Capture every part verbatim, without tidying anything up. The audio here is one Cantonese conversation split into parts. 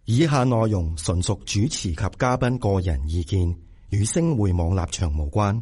以下內容純屬主持及嘉賓個人意見，與星匯網立場無關。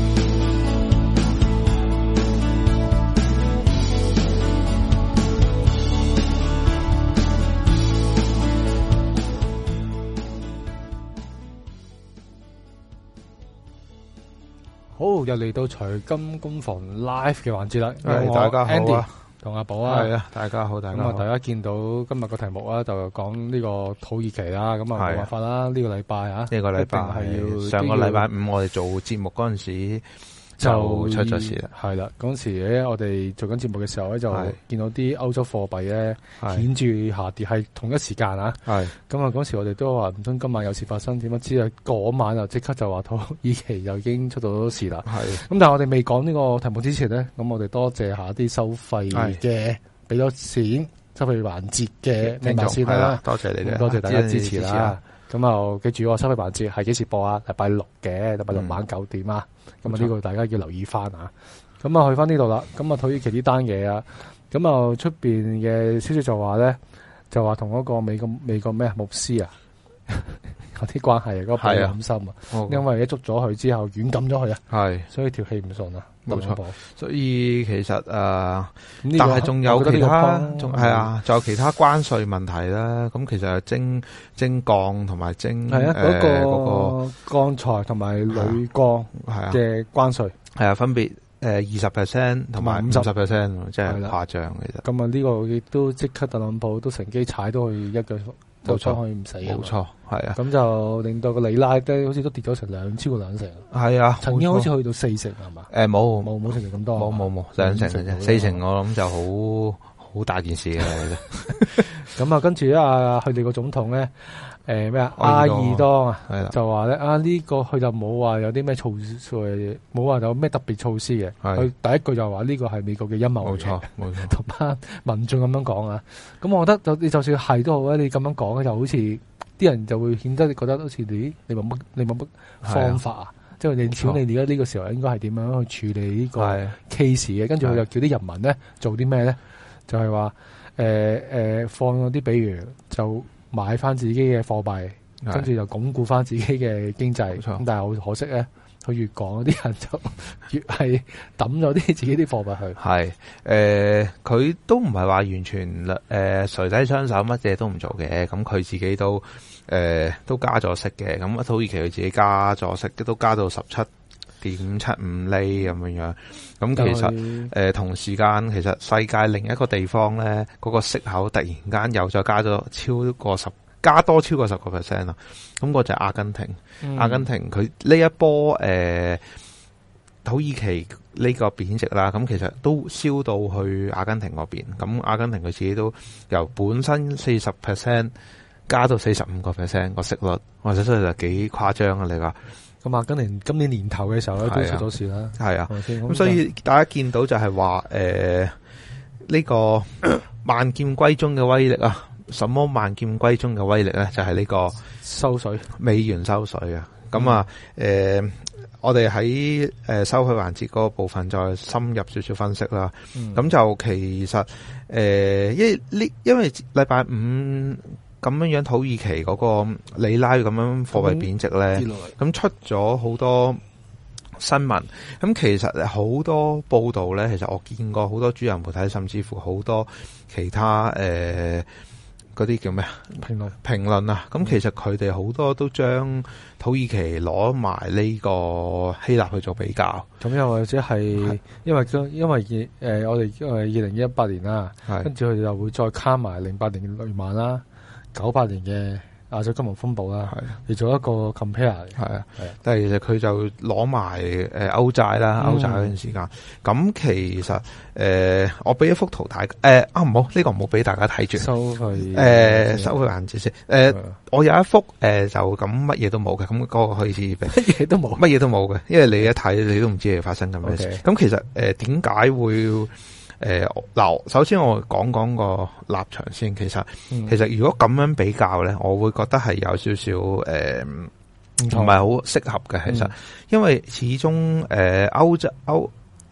好，又嚟到財金工房 live 嘅環節啦。 係，大家好 Andy 同阿寶啊， 係啊，大家好，大家好。 咁啊，大家見到今日個題目啊，就講呢個土耳其啦。咁啊，冇辦法啦，呢個禮拜啊， 呢個禮拜係要上個禮拜五我哋做節目嗰陣時就出咗事啦。 係啦，嗰陣時咧，我哋做緊節目嘅時候咧，就見到啲歐洲貨幣咧顯著下跌，係同一時間啊。係咁啊，嗰時我哋都話唔通今晚有事發生，點不知啊？嗰晚就即刻就話土耳其就已經出到事啦。係咁，但係我哋未講呢個題目之前咧，咁我哋多謝下啲收費嘅俾咗錢收費環節嘅聽眾先啦。多謝你哋，多謝大家支持啦。咁啊，記住我收費環節係幾時播啊？禮拜六嘅，禮拜六晚九點啊。咁啊，呢個大家要留意翻啊。咁啊，去翻呢度啦。咁啊，土耳其呢單嘢啊，咁啊，出邊嘅消息就話咧，就話同嗰個美國美國咩牧師啊，有啲關係啊，嗰個背好深啊。因為一捉咗佢之後，軟禁咗佢啊。係，所以條氣唔順啊。冇錯， 所以其實誒，但係仲有其他，仲係啊，仲有其他關稅問題啦。咁其實係徵徵鋼同埋徵係啊，嗰個鋼材同埋鋁鋼嘅關稅係啊，分別誒二十 percent 同埋五十 percent，真係誇張其實。 咁啊，呢個亦都即刻特朗普都乘機踩到去一腳。冇錯，可以唔死。 冇錯，係啊。咁就令到個里拉咧，好似都跌咗成兩超過兩成。 係啊， 曾經好似去到四成係嘛？ 誒，冇冇冇成咁多。 冇冇冇兩成嘅啫，四成我諗就好好大件事嘅。 咁啊，跟住啊，佢哋個總統咧，誒咩啊，阿爾多啊，就話咧啊呢個佢就冇話有啲咩措施，冇話有咩特別措施嘅。佢第一句就話呢個係美國嘅陰謀。冇錯，冇錯。同班民眾咁樣講啊，咁我覺得就你就算係都好咧，你咁樣講咧，就好似啲人就會顯得你覺得好似你你冇乜你冇乜方法啊，即係你瞧你而家呢個時候應該係點樣去處理呢個 case 嘅？跟住佢就叫啲人民咧做啲咩咧？就係話誒誒放嗰啲，比如就買翻自己嘅貨幣，跟住就鞏固翻自己嘅經濟。咁但係好可惜咧，佢越講嗰啲人就越係抌咗啲自己啲貨幣去。係誒，佢、呃、都唔係話完全誒垂低雙手乜嘢都唔做嘅。咁佢自己都誒、呃、都加咗息嘅。咁土耳其佢自己加咗息，都加到十七點七五厘咁樣樣，咁其實誒、呃、同時間其實世界另一個地方咧，嗰、那個息口突然間又再加咗超過十，加多超過十個 percent 啦。咁、那個就係阿根廷，嗯、阿根廷佢呢一波誒、呃、土耳其呢個貶值啦，咁其實都燒到去阿根廷嗰邊。咁阿根廷佢自己都由本身四十 percent 加到四十五個 percent 個息率，或者真係幾誇張啊！你話？ 咁阿根廷今年年頭嘅時候咧都出咗事啦， 係啊，咁所以大家見到就係話誒呢個萬劍歸宗嘅威力啊，什麼萬劍歸宗嘅威力咧？就係、是、呢個收水美元收水啊！咁、嗯、啊誒、呃，我哋喺誒收費環節嗰個部分再深入少少分析啦。咁、嗯、就其實誒、呃，因為呢因為禮拜五。咁樣樣土耳其嗰個里拉咁樣貨幣貶值咧，咁、嗯、出咗好多新聞。咁其實好多報道咧，其實我見過好多主流媒體，甚至乎好多其他誒嗰啲叫咩啊評論評論啊。咁其實佢哋好多都將土耳其攞埋呢個希臘去做比較。咁又或者係因為因為誒、呃、我哋因為二零一八年啦，跟住佢哋又會再卡埋零八年嘅雷曼啦。九八年嘅亞洲金融風暴啦，嚟做一個 compare， 係啊， 但係其實佢就攞埋誒歐債啦，歐債嗰段時間。咁、嗯、其實誒、呃，我俾一幅圖睇，誒、呃、啊唔好，呢、這個唔好俾大家睇住。收佢誒，收佢眼字先。誒、呃，我有一幅誒、呃，就咁乜嘢都冇嘅，咁、那、嗰個可以乜嘢都冇， 乜嘢都冇嘅，因為你一睇你都唔知係發生緊咩事。咁、okay. 其實誒，點、呃、解會？誒，嗱，首先我講講個立場先。其實，嗯、其實如果咁樣比較咧，我會覺得係有少少誒，唔係好適合嘅。其實，嗯、因為始終誒歐洲歐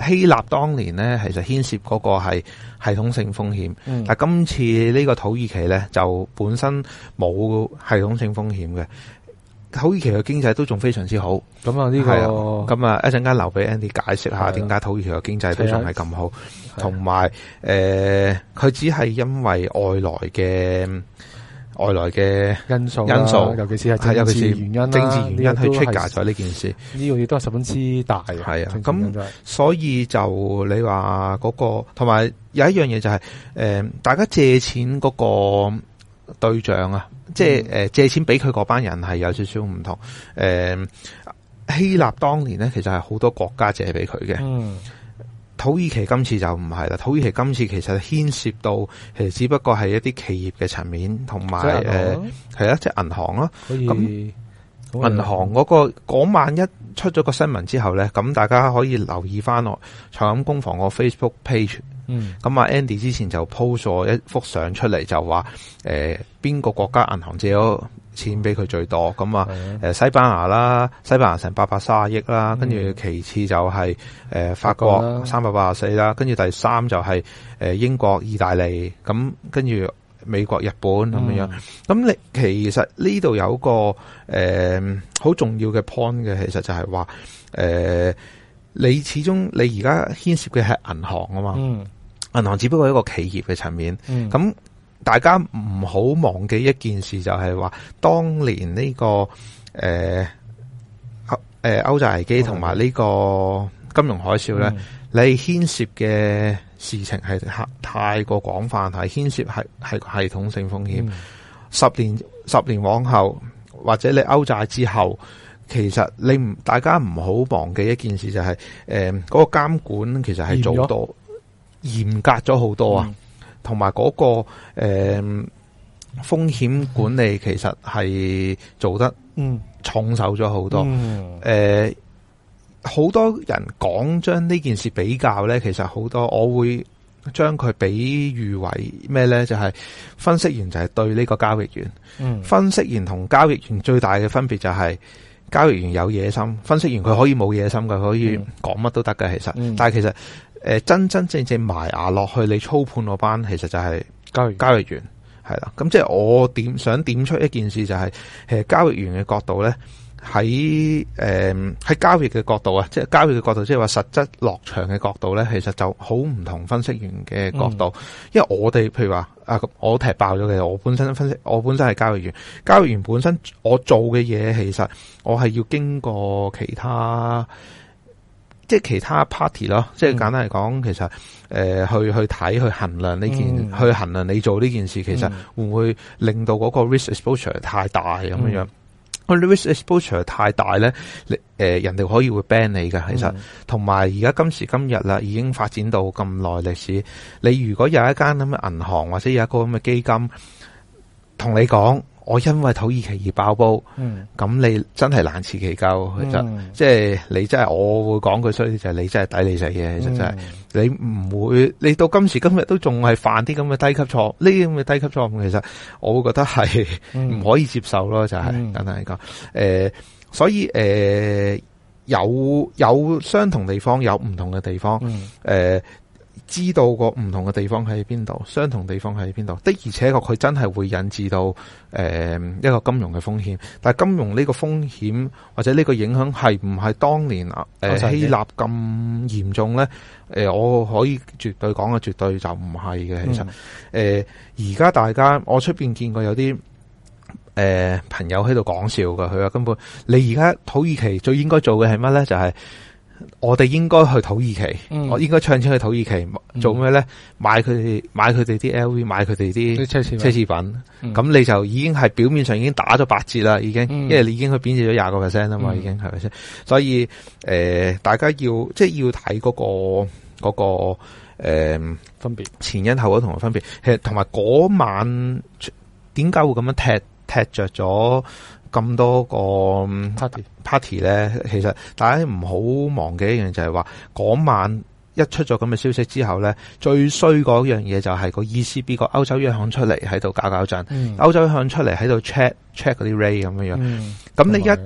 希臘當年咧，其實牽涉嗰個係系統性風險，嗯、但係今次呢個土耳其咧就本身冇系統性風險嘅。土耳其嘅經濟都仲非常之好， 咁啊呢個咁啊一陣間留俾 Andy 解釋下點解土耳其嘅經濟都仲係咁好，同埋誒佢只係因為外來嘅外來嘅因素因素， 尤其是係政治原因啦， 政治原因去 trigger 咗呢件事， 呢個亦都係十分之大嘅。 係啊，咁所以就你話嗰個，同埋有一樣嘢就係誒大家借錢嗰個對象啊。即係誒借錢俾佢嗰班人係有少少唔同。誒、呃、希臘當年咧其實係好多國家借俾佢嘅。嗯，土耳其今次就唔係啦。土耳其今次其實牽涉到其實只不過係一啲企業嘅層面，同埋誒係啊，即係銀行咯。咁銀行嗰、嗰個嗰晚一出咗個新聞之後咧，咁大家可以留意翻我財金工房個 Facebook page。嗯，咁啊 Andy 之前就 post 咗一幅相出嚟，就話誒邊個國家銀行借咗錢俾佢最多，咁啊誒西班牙啦，西班牙成八百三十億啦，跟住其次就係、是、誒、呃、法國三百八十四啦，跟住第三就係誒英國、意大利，咁跟住美國、日本咁樣樣。咁你其實呢度有個誒好、呃、重要嘅 point 嘅，其實就係話誒你始終你而家牽涉嘅係銀行啊嘛。嗯，銀行只不過係一個企業嘅層面，咁、嗯、大家唔好忘記一件事，就係話當年呢、這個誒誒歐債危機同埋呢個金融海嘯咧、嗯，你牽涉嘅事情係太過廣泛，係牽涉係係系統性風險、嗯。十年十年往後，或者你歐債之後，其實你唔大家唔好忘記一件事，就係誒嗰個監管其實係做到嚴格咗好多啊，同埋嗰個誒、呃、風險管理其實係做得重手咗好多。誒、嗯，好、呃、多人講將呢件事比較咧，其實好多我會將佢比喻為咩咧？就係、是、分析員就係對呢個交易員，嗯、分析員同交易員最大嘅分別就係、是。交易員有野心，分析員佢可以冇野心嘅，可以講乜都得嘅。其實，嗯、但係其實誒、呃、真真正正埋牙落去你操盤嗰班，其實就係交易交易員係啦。咁即係我點想點出一件事，就係、是、其實交易員嘅角度咧，喺誒喺交易嘅角度啊，即係交易嘅角度，即係話實質落場嘅角度咧，其實就好唔同分析員嘅角度。嗯、因為我哋譬如話啊，我踢爆咗嘅，我本身分析，我本身係交易員，交易員本身我做嘅嘢，其實我係要經過其他，即係其他 party 咯。即係簡單嚟講，其實誒、呃、去去睇去衡量呢件、嗯，去衡量你做呢件事，其實會唔會令到嗰個 risk exposure 太大咁樣樣？嗯個 risk exposure 太大咧，你、呃、誒人哋可以會 ban 你㗎。其實同埋而家今時今日啦，已經發展到咁耐歷史。你如果有一間咁嘅銀行或者有一個咁嘅基金，同你講，我因為土耳其而爆煲，咁、嗯、你真係難辭其咎。其實、嗯、即係你真係，我會講句衰啲就係你真係抵你死嘅。其實真係、嗯、你唔會，你到今時今日都仲係犯啲咁嘅低級錯，呢啲咁嘅低級錯誤，其實我會覺得係唔可以接受咯。就係簡單嚟講，誒，所以誒、呃、有有相同地方，有唔同嘅地方，誒、嗯。呃知道個唔同嘅地方喺邊度，相同地方喺邊度的，而且確佢真係會引致到誒、呃、一個金融嘅風險。但係金融呢個風險或者呢個影響係唔係當年誒、呃、希臘咁嚴重咧？誒、呃，我可以絕對講嘅，絕對就唔係嘅。其實誒而家大家我出邊見過有啲誒、呃、朋友喺度講笑噶，佢話根本你而家土耳其最應該做嘅係乜咧？就係、是。我哋應該去土耳其，嗯、我應該唱錢去土耳其、嗯、做咩咧？買佢哋買佢哋啲 L V， 買佢哋啲奢侈奢侈品。咁、嗯、你就已經係表面上已經打咗八折啦，已經，嗯、因為你已經去貶值咗廿個 percent 啊嘛，已經係咪先？所以誒、呃，大家要即係要睇嗰、那個嗰、那個誒、呃、分別前因後果同埋分別。其實同埋嗰晚點解會咁樣踢踢着咗？咁多個 party party 咧，其實大家唔好忘記一樣，就係話嗰晚一出咗咁嘅消息之後咧，最衰嗰樣嘢就係個 E C B 個歐洲央行出嚟喺度搞搞震，歐洲央行出嚟喺度 check check 嗰啲 rate 咁樣樣。咁、嗯、你一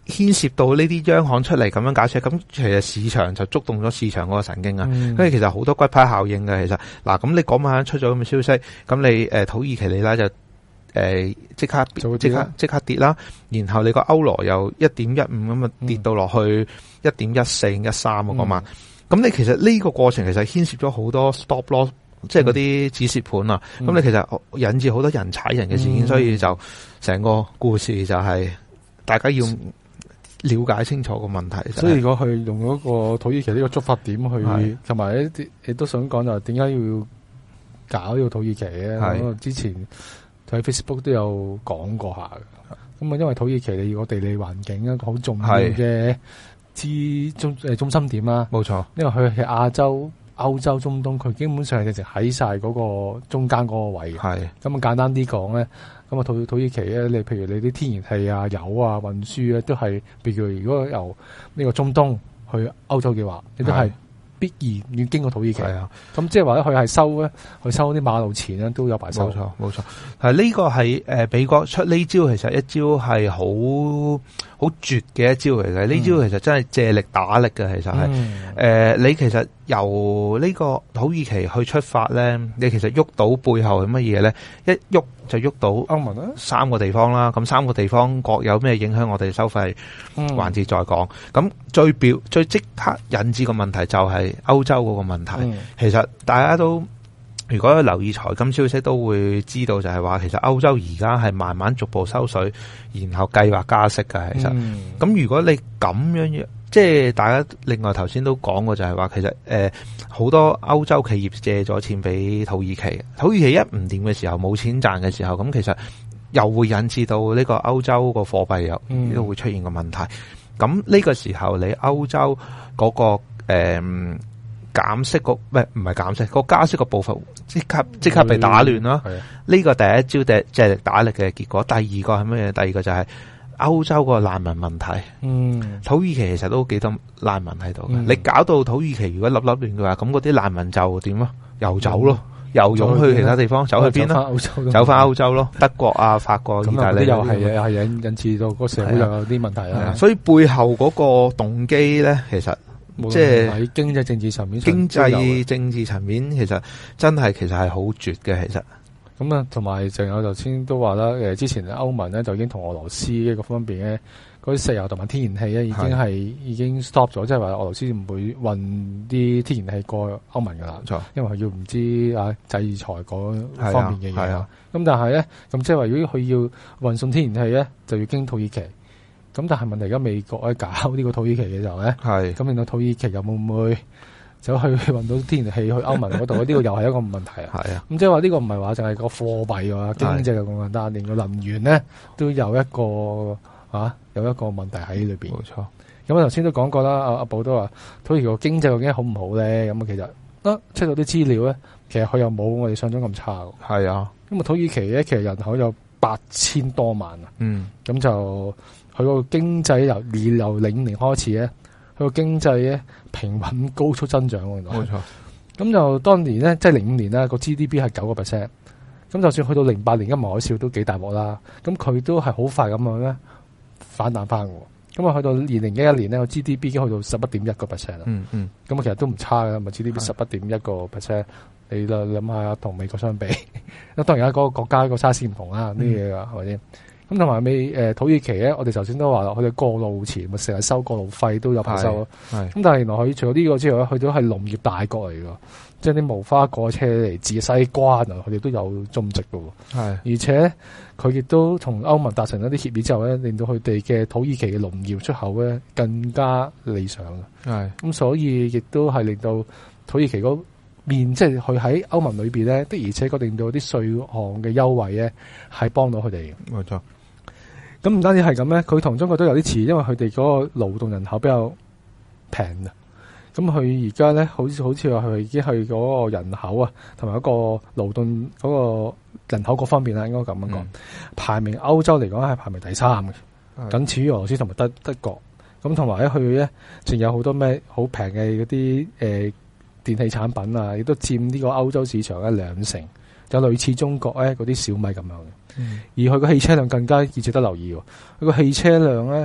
牽涉到呢啲央行出嚟咁樣解釋，咁其實市場就觸動咗市場嗰個神經啊。因為、嗯、其實好多骨牌效應嘅，其實嗱，咁你嗰晚出咗咁嘅消息，咁你誒土耳其里拉就誒即刻即刻即刻跌啦，然後你個歐羅又一點一五咁啊跌到落去一點一四一三啊嗰晚，咁、嗯、你其實呢個過程其實牽涉咗好多 stop loss，即係嗰啲止蝕盤啊，咁、嗯、你其實引致好多人踩人嘅事件，嗯、所以就成個故事就係大家要了解清楚個問題， 所以如果佢用嗰個土耳其呢個觸發點去，同埋一啲亦都想講就係點解要搞呢個土耳其咧？咁之前喺 Facebook 都有講過下嘅。咁啊，因為土耳其你個地理環境啊，好重要嘅之中誒中心點啦。冇錯，因為佢係亞洲、歐洲、中東，佢基本上係直情喺晒嗰個中間嗰個位嘅。係咁啊，簡單啲講咧。咁啊，土土耳其咧，你譬如你啲天然氣啊、油啊、運輸咧，都係，譬如如果由呢個中東去歐洲嘅話，你都係必然要經過土耳其。係啊，咁即係話咧，佢係收咧，佢收啲馬路錢咧，都有排收。冇錯，冇錯。係呢個係誒美國出呢招，其實一招係好好絕嘅一招嚟嘅。呢、嗯、招其實真係借力打力嘅，其實係誒、嗯呃、你其實由呢個土耳其去出發咧，你其實喐到背後係乜嘢咧？一喐就喐到歐盟啦，三個地方啦，咁三個地方各有咩影響，我哋收費環節再講。咁、嗯、最表最即刻引致個問題就係歐洲嗰個問題。嗯、其實大家都如果留意財金消息，都會知道就係話，其實歐洲而家係慢慢逐步收水，然後計劃加息嘅。其實，咁、嗯、如果你咁樣，即係大家另外頭先都講過，就係話其實誒好、呃、多歐洲企業借咗錢俾土耳其，土耳其一唔掂嘅時候，冇錢賺嘅時候，咁其實又會引致到呢個歐洲個貨幣又都會出現個問題。咁呢、嗯、個時候，你歐洲嗰、嗰個誒減、呃、息個唔係唔係減息個加息個步伐即刻即刻被打亂啦。呢、嗯、個第一招嘅借力打力嘅結果。第二個係乜嘢？第二個就係、是。歐洲個難民問題，嗯，土耳其其實都幾多難民喺度嘅。你搞到土耳其如果粒粒亂嘅話，咁嗰啲難民就點啊？又走咯，又湧去其他地方，走去邊啦？走翻歐洲咯，德國啊、法國、意大利又係又係引引致到個社會又有啲問題啦。所以背後嗰個動機咧，其實即係喺經濟政治層面，經濟政治層面其實真係其實係好絕嘅，其實。咁啊，同埋仲有頭先都話啦，誒，之前歐盟咧就已經同俄羅斯呢個方面咧，嗰啲石油同埋天然氣咧已經係已經 stop 咗，即係話俄羅斯唔會運啲天然氣過歐盟噶啦，錯，因為佢要唔知啊制裁嗰方面嘅嘢。咁但係咧，咁即係話如果佢要運送天然氣咧，就要經土耳其。咁但係問題而家美國喺搞呢個土耳其嘅時候咧，係咁令到土耳其又會唔會走去運到天然氣去歐盟嗰度？呢個又係一個問題啊！係啊，咁即係話呢個唔係話淨係個貨幣啊，經濟咁簡單，連個能源咧都有一個啊有一個問題喺裏邊。冇錯。咁我頭先都講過啦，阿阿寶都話土耳其個經濟究竟好唔好咧？咁啊，其實啊出到啲資料咧，其實佢又冇我哋想象咁差。係啊，咁啊土耳其咧其實人口有八千多萬啊。嗯。咁就佢個經濟由二由零五年開始咧。佢個經濟咧平穩高速增長，冇錯。咁就當年咧，即係零五年啦，個 G D P 係九個 percent。咁就算去到零八年金融海嘯都幾大鑊啦。咁佢都係好快咁樣咧反彈翻嘅。咁啊去到二零一一年咧，個 G D P 已經去到十一點一個 percent 啦。嗯嗯。咁啊其實都唔差嘅，咪 G D P 十一點一個 percent。你諗下同美國相比，咁當然啦，嗰個國家個 size 唔同啦，呢嘢啊係咪先？咁同埋尾誒土耳其咧，我哋頭先都話啦，佢哋過路錢咪成日收過路費都有排收咯。咁但係原來佢除咗呢個之外咧，佢都係農業大國嚟㗎，即係啲無花果車嚟自西瓜啊，佢哋都有種植㗎喎。而且佢亦都同歐盟達成一啲協議之後咧，令到佢哋嘅土耳其嘅農業出口咧更加理想嘅。咁所以亦都係令到土耳其嗰面即係佢喺歐盟裏邊咧，的而且確令到啲稅項嘅優惠咧係幫到佢哋嘅。冇錯。咁唔單止係咁咧，佢同中國都有啲似，因為佢哋嗰個勞動人口比較平啊。咁佢而家咧，好似好似話佢已經係嗰個人口啊，同埋一個勞動嗰個人口各方面啦，應該咁樣講，嗯、排名歐洲嚟講係排名第三嘅，僅次於俄羅斯同埋德德國。咁同埋咧，佢咧仲有好多咩好平嘅嗰啲誒電器產品啊，亦都佔呢個歐洲市場嘅兩成，就類似中國咧嗰啲小米咁樣嘅。嗯、而佢個汽車輛更加要值得留意喎。佢個汽車輛咧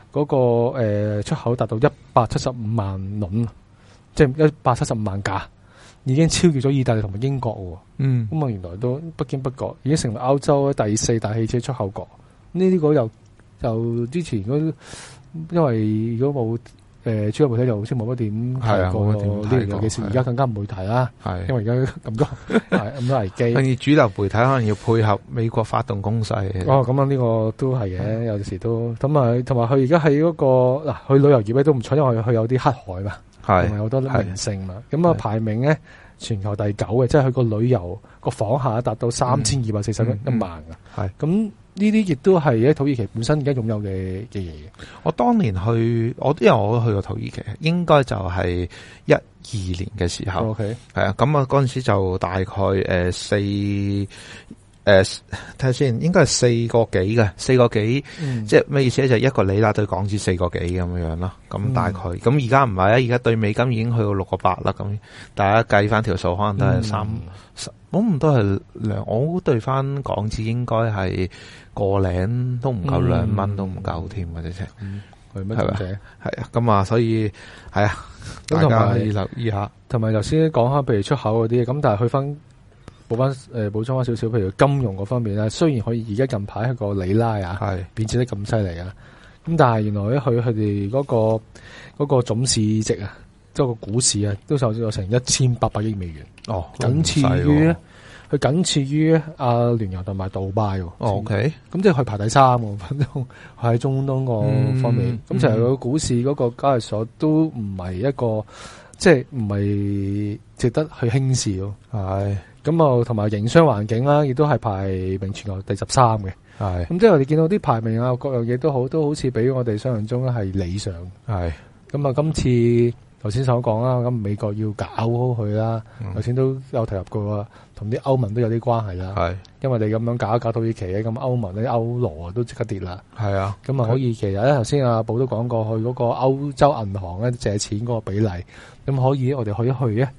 嗰個誒出口達到一百七十五萬輪，即係一百七十五萬架，已經超越咗意大利同埋英國喎。 嗯， 咁啊原來都不經不覺已經成為歐洲第四大汽車出口國。呢啲個又又之前嗰，因為如果冇誒主流媒體，又好似冇乜點提過呢樣嘢嘅事，而家更加唔會提啦。係因為而家咁多咁多危機， 跟住主流媒體可能要配合美國發動攻勢。 哦，咁啊呢個都係嘅，有時都咁啊，同埋佢而家喺嗰個嗱，佢旅遊業咧都唔錯，因為佢有啲黑海嘛，係同埋好多名勝嘛。咁啊排名咧全球第九嘅，即係佢個旅遊個訪客達到三千二百四十一萬噶。係咁。呢啲亦都係喺土耳其本身而家擁有嘅嘅嘢。 我當年去，我因為我都去過土耳其，應該就係一二年嘅時候。OK，係啊，咁啊嗰陣時就大概誒四誒睇下先，應該係四個幾嘅，四個幾，嗯、即係咩意思咧？就係、一個里拉對港紙四個幾咁樣樣咯。咁大概，咁而家唔係啊，而家對美金已經去到六個八啦。咁大家計翻條數，可能都係三。嗯我唔都係兩，我對翻港紙應該係個零都唔夠兩蚊，都唔夠添嘅啫。係咪？係咪？係啊，咁啊，所以係啊，大家可以留意下。同埋頭先講下，譬如出口嗰啲，咁但係去翻補翻誒補充翻少少，譬如金融嗰方面咧，雖然可以而家近排係個里拉啊，係貶值得咁犀利啊，咁但係原來咧佢佢哋嗰個嗰個總市值啊。即係個股市啊，都受咗成一千八百億美元。哦，僅次於咧，佢僅次於阿聯酋同埋杜拜。哦，OK，咁即係佢排第三喎，反正喺中東個方面。咁其實個股市嗰個交易所都唔係一個，即係唔係值得去輕視咯。係。咁啊，同埋營商環境啦，亦都係排名全球第十三嘅。係。咁即係我哋見到啲排名啊，各樣嘢都好，都好似比我哋想象中係理想。係。咁啊，今次。頭先所講啦，咁美國要搞好佢啦，頭先、嗯、都有提及過，同啲歐盟都有啲關係啦。係，因為你咁樣搞一搞土耳其咧，咁歐盟啲歐羅啊都即刻跌啦。係啊，咁啊可以其實咧，頭先阿寶都講過，去嗰個歐洲銀行咧借錢嗰個比例，咁可以我哋可以去咧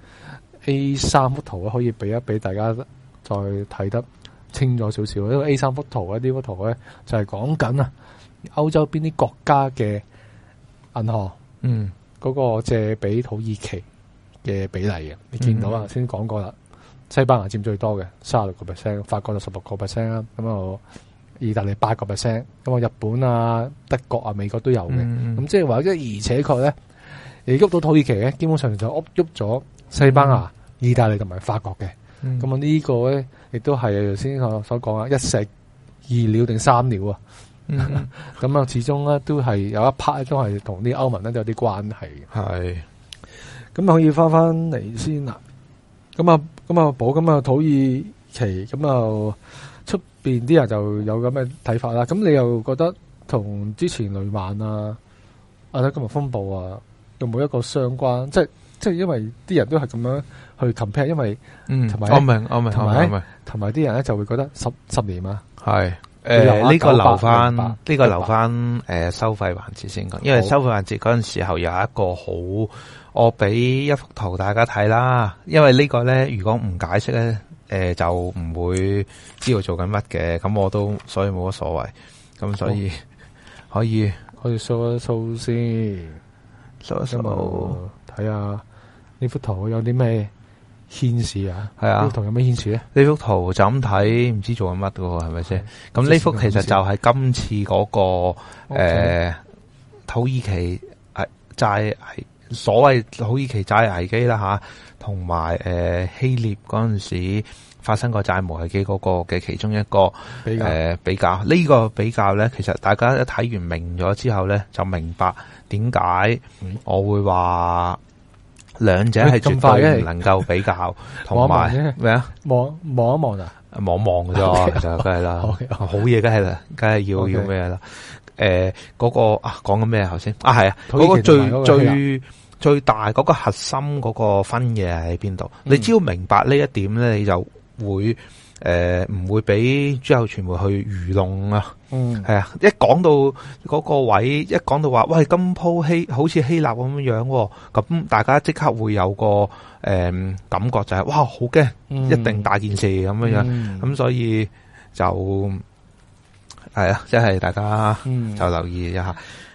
A 三幅圖咧，可以俾一俾大家再睇得清楚少少。因為 A 三幅圖咧，呢幅圖咧就係講緊啊歐洲邊啲國家嘅銀行，嗯。嗰個借俾土耳其嘅比例嘅，你見到啊？先講過啦，西班牙佔最多嘅，三十六個 percent， 法國就十六個 percent 啦，咁啊，意大利八個 percent，咁啊，日本啊、德國啊、美國都有嘅，咁、嗯、即係話，即係而且確咧，你喐到土耳其咧，基本上就喐喐咗西班牙、嗯、意大利同埋法國嘅，咁啊、嗯、呢個咧，亦都係頭先我所講啊，一石二鳥定三鳥啊！咁啊，嗯、始終咧都係有一 part 都係同啲歐盟咧都有啲關係嘅。係，咁可以翻翻嚟先啦。咁啊，咁啊，寶咁啊，土耳其咁啊，出邊啲人就有咁嘅睇法啦。咁你又覺得同之前雷曼啊、阿德金融風暴啊，有冇一個相關？即係即係因為啲人都係咁樣去 compare，因為嗯，同埋我明我明同埋同埋啲人咧就會覺得十十年啊，係。誒，呢、呃這個留翻，呢個留翻誒、呃、收費環節先講，因為收費環節嗰陣時候有一個好，我俾一幅圖大家睇啦。因為個呢個咧，如果唔解釋咧，誒、呃、就唔會知道做緊乜嘅。咁我都所以冇乜所謂。咁所以可以可以 show 一 show 先 show 一 show 睇下呢幅圖有啲咩顯示啊，係啊，呢幅圖有咩顯示咧？呢幅圖就咁睇，唔知做緊乜噶喎，係咪先？咁呢幅其實就係今次嗰、那個誒 Okay.、呃、土耳其誒債危，所謂土耳其債危機啦吓，同埋誒希臘嗰陣時發生過債務危機嗰個嘅其中一個比較誒、呃、比較。呢、這個比較咧，其實大家一睇完明咗之後咧，就明白點解我會話。兩者係絕對唔能夠比較，同埋咩啊？望望一望啊！望望嘅啫，其實梗係啦，好嘢梗係啦，梗係要要咩啦？誒，嗰個啊，講緊咩頭先？啊，係啊，嗰個最最最大嗰個核心嗰個分野喺邊度？你只要明白呢一點咧，你就會。誒，唔、呃、會俾之後傳媒去愚弄啊！嗯，係啊，一講到嗰個位，一講到話，喂，今鋪希好似希臘咁樣樣，咁大家即刻會有個誒、呃、感覺就係、是，哇，好驚，嗯、一定大件事咁樣樣，咁、嗯、所以就係啊，即係大家就留意一下。誒、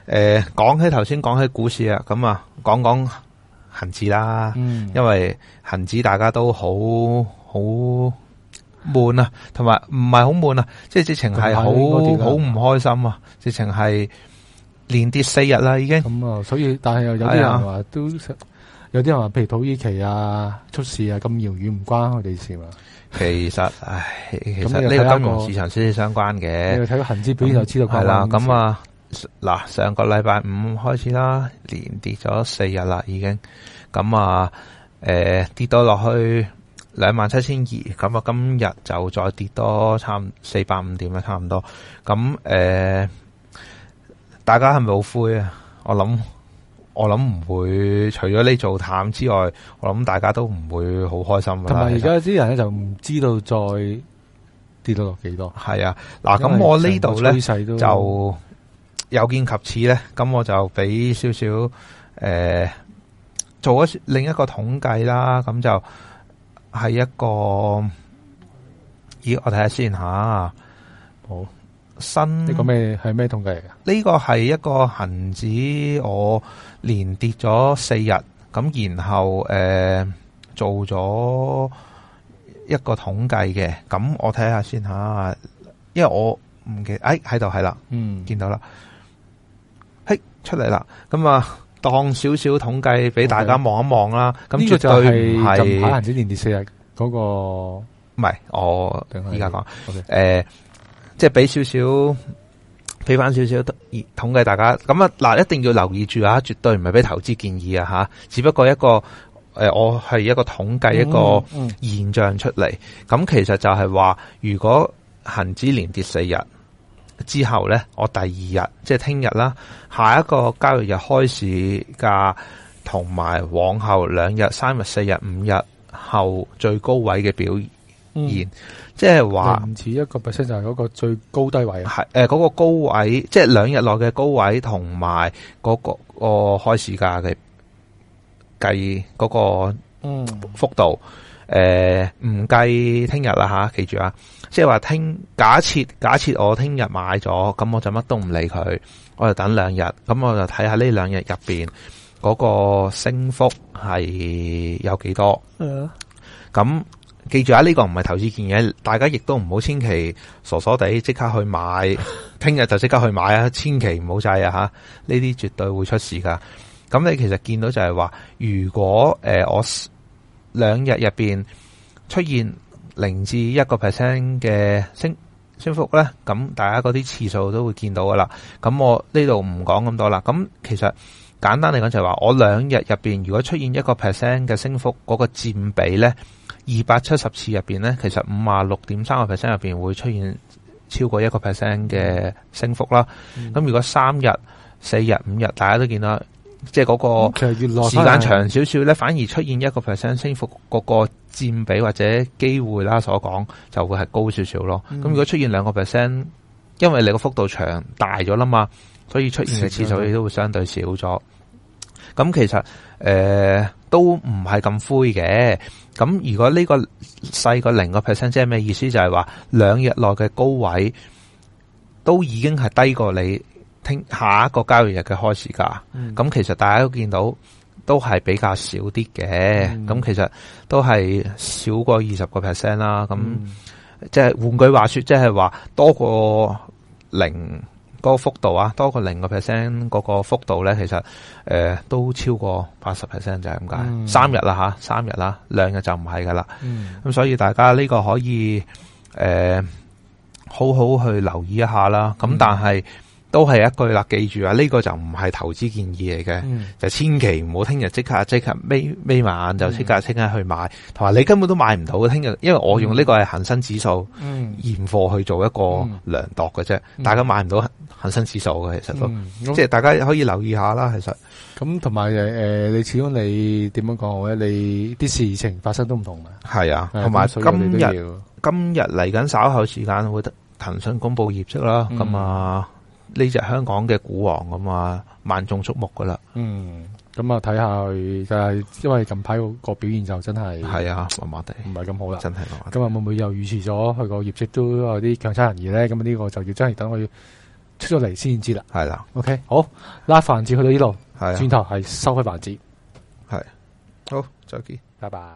誒，講起頭先講起股市啊，咁啊，講講恒指啦，嗯，因為恒指大家都好好悶啊，同埋唔係好悶啊，即係直情係好好唔開心啊，直情係連跌四日啦已經。咁啊，所以但係又有啲人話都，有啲人話譬如土耳其啊出事啊咁遙遠唔關佢哋事嘛。 其實，唉，其實呢個金融市場息息相關嘅。 你睇個恒指表現就知道。 係啦，咁啊，嗱，上個禮拜五開始啦，連跌咗四日啦，已經。咁啊，誒、呃，跌到落去兩萬七千二，咁啊，今日就再跌多差唔四百五點啦，差唔多。咁誒、呃，大家係咪好灰啊？我諗。我諗唔會，除咗你做淡之外，我諗大家都唔會好開心噶啦。 同埋而家啲人咧就唔知道再跌到落幾多。 係啊，嗱，咁我呢度咧就有見及此咧，咁我就俾少少誒做咗另一個統計啦。咁就係一個，咦，我睇下先吓。好。新呢個咩係咩統計嚟噶？ 呢個係一個恒指，我連跌咗四日，咁然後誒、呃、做咗一個統計嘅，咁我睇下先吓，因為我唔記得，誒喺度係啦，嗯，見到啦，嘿出嚟啦，咁啊當少少統計俾大家望一望啦，咁絕對唔係近排恒指連跌四日嗰個，唔係我依家講，誒。即係俾少少，俾翻少少統計大家。咁啊，嗱，一定要留意住啊，絕對唔係俾投資建議啊，吓，只不過一個誒、呃，我係一個統計一個現象出嚟。咁、嗯嗯、其實就係話，如果恒指連跌四日之後咧，我第二日即係聽日啦，下一個交易日開市價同埋往後兩日、三日、四日、五日後最高位嘅表現。嗯即係話唔似一個 percent 就係嗰個最高低位啊， 係誒嗰個高位，即係兩日內嘅高位同埋嗰個、嗰個開市價嘅計嗰個嗯幅度，誒唔計聽日啦吓，記住啊！即係話聽假設假設我聽日買咗，咁我就乜都唔理佢，我就等兩日，咁我就睇下呢兩日入邊嗰個升幅係有幾多，嗯，咁。記住啊！呢、這個唔係投資建議，大家亦都唔好千祈傻傻地即刻去買，聽日就即刻去買啊！千祈唔好制啊！吓，呢啲絕對會出事噶。咁你其實見到就係話，如果誒、呃、我兩日入邊出現零至一個 percent 嘅升升幅咧，咁大家嗰啲次數都會見到噶啦。咁我呢度唔講咁多啦。咁其實簡單嚟講就係話，我兩日入邊如果出現一個 percent 嘅升幅，嗰、那個佔比咧。二百七十次入邊咧，其實五啊六點三個 percent 入邊會出現超過一個 percent 嘅升幅啦。咁、嗯、如果三日、四日、五日，大家都見到，即係嗰個時間長少少咧，反而出現一個 percent 升幅，嗰個佔比或者機會啦，所講就會係高少少咯。咁、嗯、如果出現兩個 percent，因為你個幅度長大咗啦嘛，所以出現嘅次數亦都會相對少咗。咁其實誒、呃、都唔係咁灰嘅。咁如果呢個細過零個 percent，即係咩意思？就係話兩日內嘅高位都已經係低過你聽下一個交易日嘅開市價。咁、嗯、其實大家都見到都係比較少啲嘅。咁、嗯、其實都係少過二十個 percent 啦。咁即係換句話說，即係話多過零。嗰個幅度啊，多過零個 percent 嗰個幅度咧，其實誒、呃、都超過八十 percent 就係咁解。嗯、三日啦吓，三日啦，兩日就唔係噶啦。咁、嗯、所以大家呢個可以誒、呃、好好去留意一下啦。咁、嗯、但係都係一句啦，記住啊，呢、這個就唔係投資建議嚟嘅、嗯，就千祈唔好聽日即刻即刻眯眯埋眼就即刻即刻去買，同、嗯、埋你根本都買唔到。聽日因為我用呢個係恒生指數現貨去做一個量度嘅啫、嗯，大家買唔到恒生指數嘅，其實都、嗯、即係大家可以留意下啦。其實咁同埋誒，你始終你點樣講好咧？你啲事情發生都唔同嘅。係啊，同埋今日今日嚟緊稍後時間會騰訊公布業績啦。咁、嗯、啊。呢隻香港嘅股王咁啊，萬眾矚目噶啦。嗯， 咁啊睇下佢就係，因為近排個表現就真係係啊，麻麻地，唔係咁好啦。真係麻麻地。 今日會唔會又預示咗佢個業績都有啲強差人意咧？咁呢個就要真係等佢出咗嚟先知啦。 係啦。 OK， 好，拉環節去到呢度， 係轉頭係收開環節， 係好，再見， 拜拜。